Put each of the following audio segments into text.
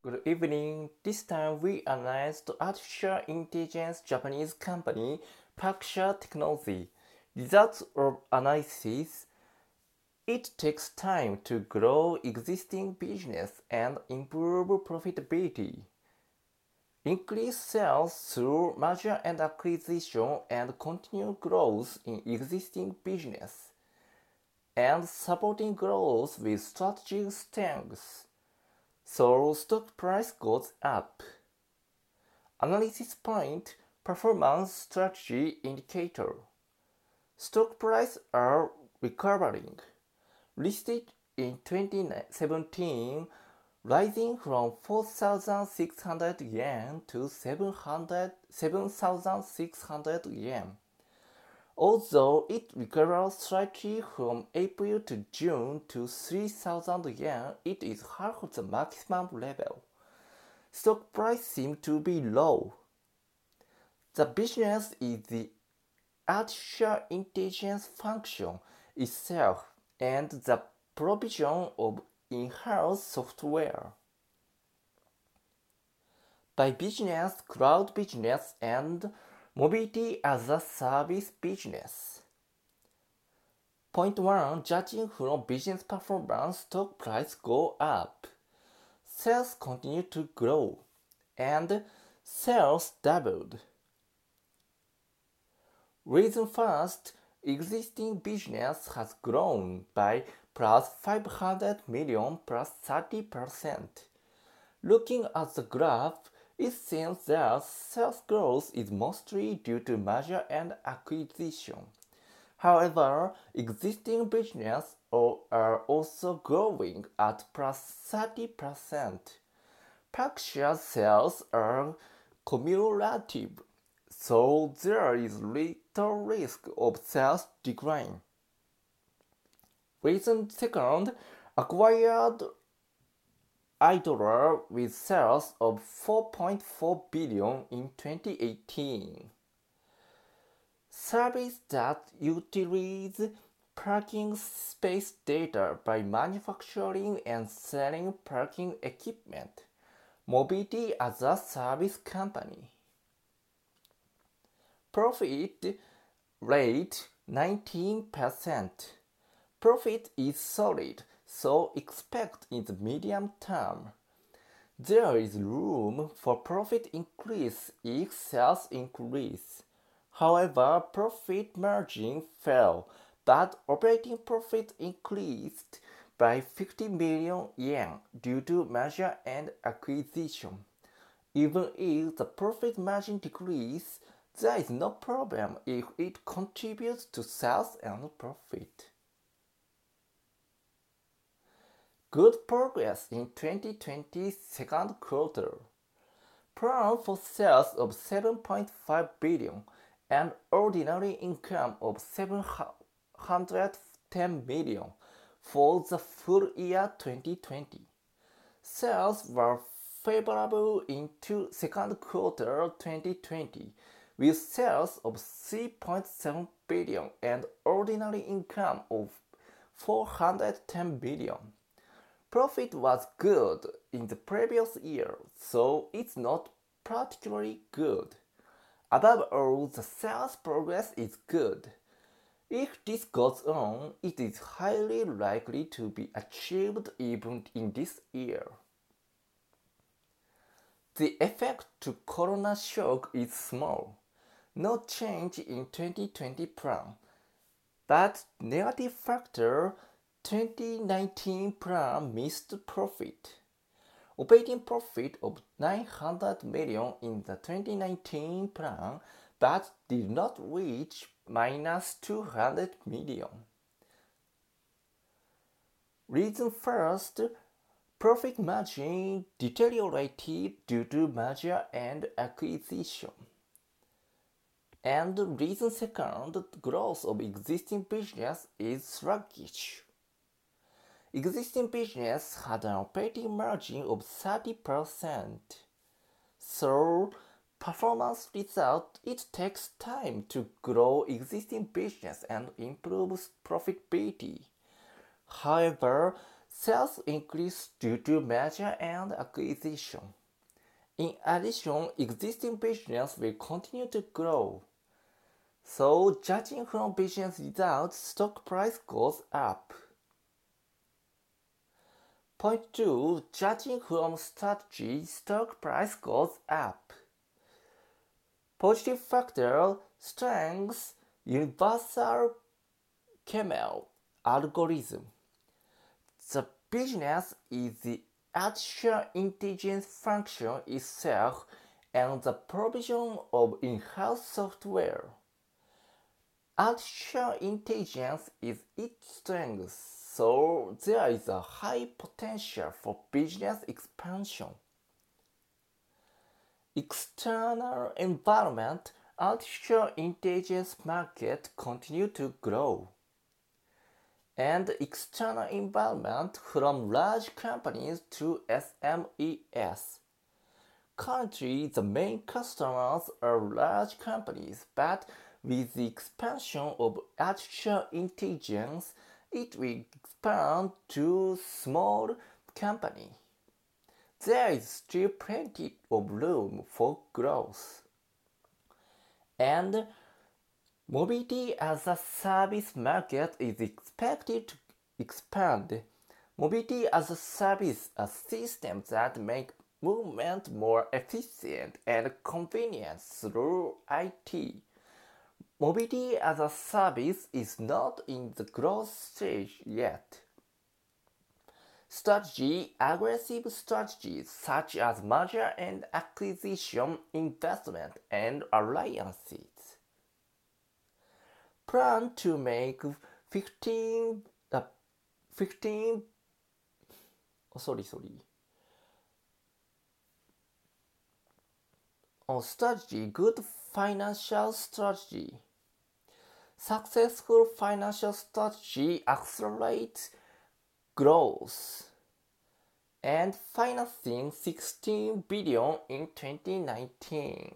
Good evening. This time we analyzed artificial intelligence Japanese company Paksha Technology. Results of analysis. It takes time to grow existing business and improve profitability. Increase sales through merger and acquisition and continue growth in existing business. And supporting growth with strategic strengths. So stock price goes up. Analysis point performance strategy indicator. Stock price are recovering. Listed in 2017, rising from 4,600 yen to 7,600 yen. Although it recovered slightly from April to June to 3,000 yen, it is half the maximum level. Stock price seems to be low. The business is the artificial intelligence function itself and the provision of in-house software. By business, cloud business, and mobility as a service business. Point 1. Judging from business performance, stock price go up. Sales continue to grow, and sales doubled. Reason first, existing business has grown by plus 500 million plus 30%. Looking at the graph, it seems that sales growth is mostly due to merger and acquisition. However, existing business are also growing at plus 30%. Paksha sales are cumulative, so there is little risk of sales decline. Reason second, acquired Idler with sales of 4.4 billion in 2018. Service that utilizes parking space data by manufacturing and selling parking equipment. Mobility as a service company. Profit rate 19%. Profit is solid, so expect in the medium term. There is room for profit increase if sales increase. However, profit margin fell, but operating profit increased by 50 million yen due to merger and acquisition. Even if the profit margin decreases, there is no problem if it contributes to sales and profit. Good progress in 2020 second quarter. Plan for sales of 7.5 billion and ordinary income of 710 million for the full year 2020. Sales were favorable in second quarter 2020 with sales of 3.7 billion and ordinary income of 410 billion. Profit was good in the previous year, so it's not particularly good. Above all, the sales progress is good. If this goes on, it is highly likely to be achieved even in this year. The effect to corona shock is small. No change in 2020 plan. But negative factor 2019 plan missed profit. Operating profit of 900 million in the 2019 plan but did not reach minus 200 million. Reason first, profit margin deteriorated due to merger and acquisition. And reason second, growth of existing business is sluggish. Existing business had an operating margin of 30%. So, performance result, it takes time to grow existing business and improve profitability. However, Sales increase due to merger and acquisition. In addition, existing business will continue to grow. So, judging from business results, stock price goes up. Point 2. Judging from strategy, stock price goes up. Positive factor, strengths, universal Camel algorithm. The business is the artificial intelligence function itself and the provision of in-house software. Artificial intelligence is its strength, so there is a high potential for business expansion. External environment, artificial intelligence market continue to grow. And external environment from large companies to SMEs. Currently, the main customers are large companies, but with the expansion of artificial intelligence, it will expand to small companies. There is still plenty of room for growth. And mobility as a service market is expected to expand. Mobility as a service are systems that make movement more efficient and convenient through IT. Mobility as a service is not in the growth stage yet. Strategy, aggressive strategies such as merger and acquisition, investment, and alliances. Plan to make 15 strategy, good financial strategy. Successful financial strategy accelerates growth and financing 16 billion in 2019.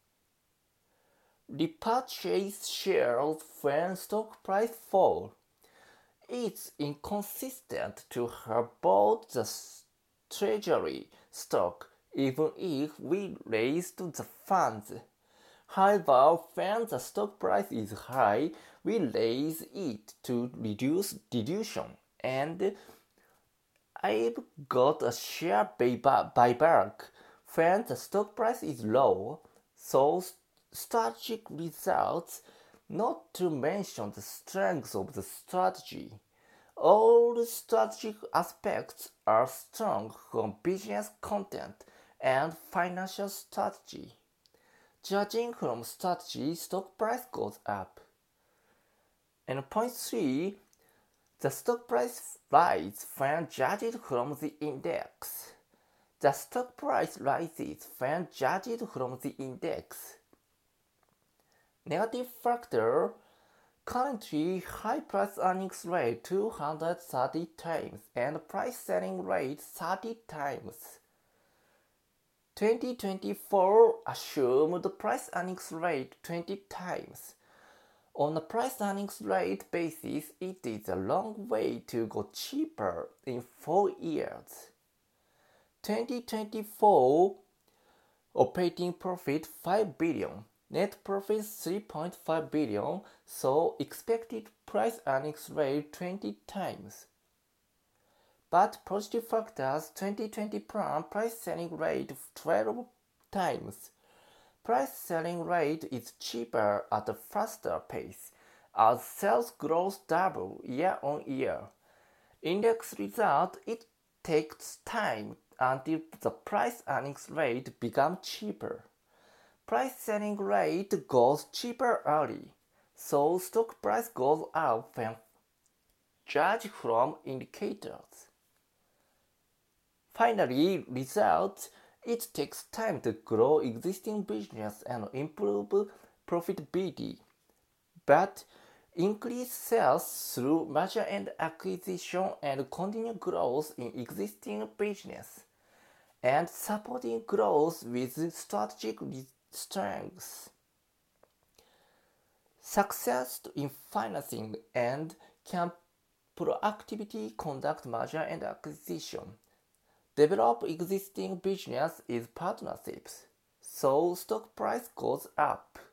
Repurchase shares when stock price fall. It's inconsistent to have bought the treasury stock even if we raised the funds. However, when the stock price is high, we raise it to reduce dilution, and I've got a share buyback when the stock price is low, so strategic results, not to mention the strengths of the strategy. All strategic aspects are strong from business content and financial strategy. Judging from strategy, stock price goes up. And point 3, the stock price rises when judged from the index. The stock price rises when judged from the index. Negative factor, currently high price earnings rate 230 times and price selling rate 30 times. 2024 assumed price earnings rate 20 times. On a price earnings rate basis, it is a long way to go cheaper in 4 years. 2024 operating profit 5 billion, net profit 3.5 billion, so expected price earnings rate 20 times. But positive factors, 2020 plan price selling rate 12 times. Price selling rate is cheaper at a faster pace as sales grows double year on year. Index result, it takes time until the price earnings rate becomes cheaper. Price selling rate goes cheaper early, so stock price goes up when judged from indicators. Finally, results, it takes time to grow existing business and improve profitability, but increase sales through merger and acquisition and continue growth in existing business, and supporting growth with strategic strengths. Success in financing and Proactivity conduct merger and acquisition. Develop existing business is partnerships. So stock price goes up.